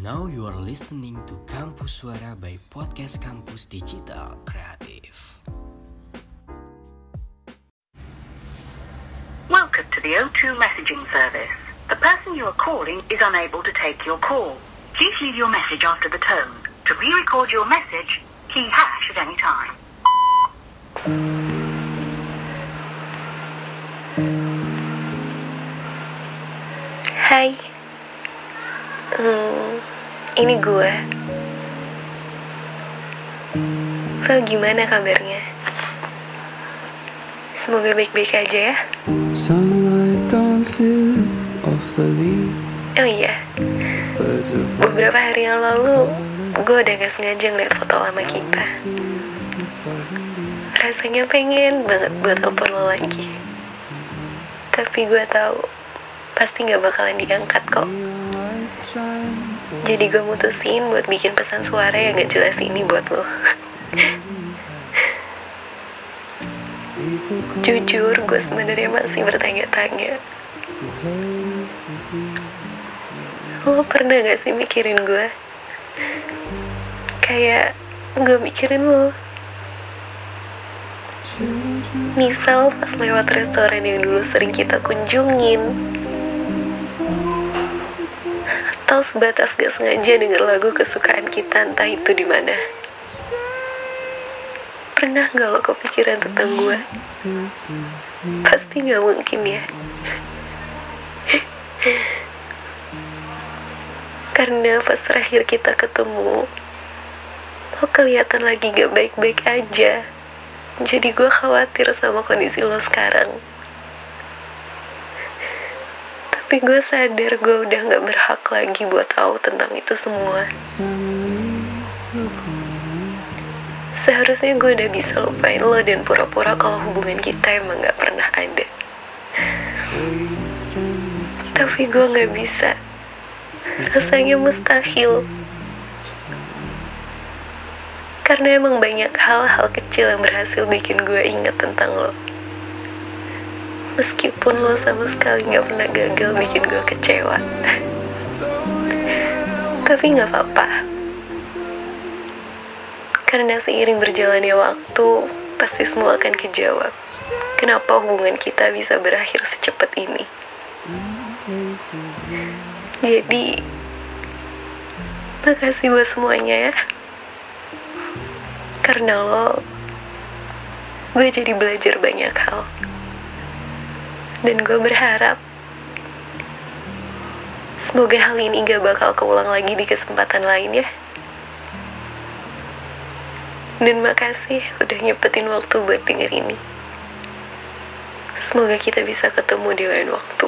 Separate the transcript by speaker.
Speaker 1: Now you are listening to Kampus Suara by Podcast Kampus Digital Kreatif.
Speaker 2: Welcome to the O2 messaging service. The person you are calling is unable to take your call. Please leave your message after the tone. To re-record your message, key hash at any time.
Speaker 3: Hai, ini gue. Lo gimana kabarnya? Semoga baik-baik aja ya.
Speaker 4: Sunlight dances off the leaves.
Speaker 3: Oh iya, beberapa hari yang lalu gue udah gak sengaja ngeliat foto lama kita. Rasanya pengen banget buat telepon lo lagi, tapi gue tahu pasti gak bakalan diangkat kok. Jadi gue mutusin buat bikin pesan suara yang gak jelas ini buat lo. Jujur, gue sebenarnya masih bertanya-tanya. Lo pernah gak sih mikirin gue? Kayak gue mikirin lo. Misal pas lewat restoran yang dulu sering kita kunjungin, atau sebatas gak sengaja denger lagu kesukaan kita entah itu di mana. Pernah gak lo kepikiran tentang gue? Pasti gak mungkin ya. Karena pas terakhir kita ketemu, lo kelihatan lagi gak baik-baik aja. Jadi gue khawatir sama kondisi lo sekarang. Tapi gue sadar gue udah gak berhak lagi buat tahu tentang itu semua. Seharusnya gue udah bisa lupain lo dan pura-pura kalau hubungan kita emang gak pernah ada. Tapi gue gak bisa. Rasanya mustahil. Karena emang banyak hal-hal kecil yang berhasil bikin gue ingat tentang lo. Meskipun lo sama sekali gak pernah gagal bikin gue kecewa. Tapi gak apa-apa. Karena seiring berjalannya waktu, pasti semua akan kejawab. Kenapa hubungan kita bisa berakhir secepat ini. Jadi, makasih buat semuanya ya. Karena lo, gue jadi belajar banyak hal. Dan gue berharap semoga hal ini gak bakal keulang lagi di kesempatan lain ya. Dan makasih udah nyepetin waktu buat denger ini. Semoga kita bisa ketemu di lain waktu.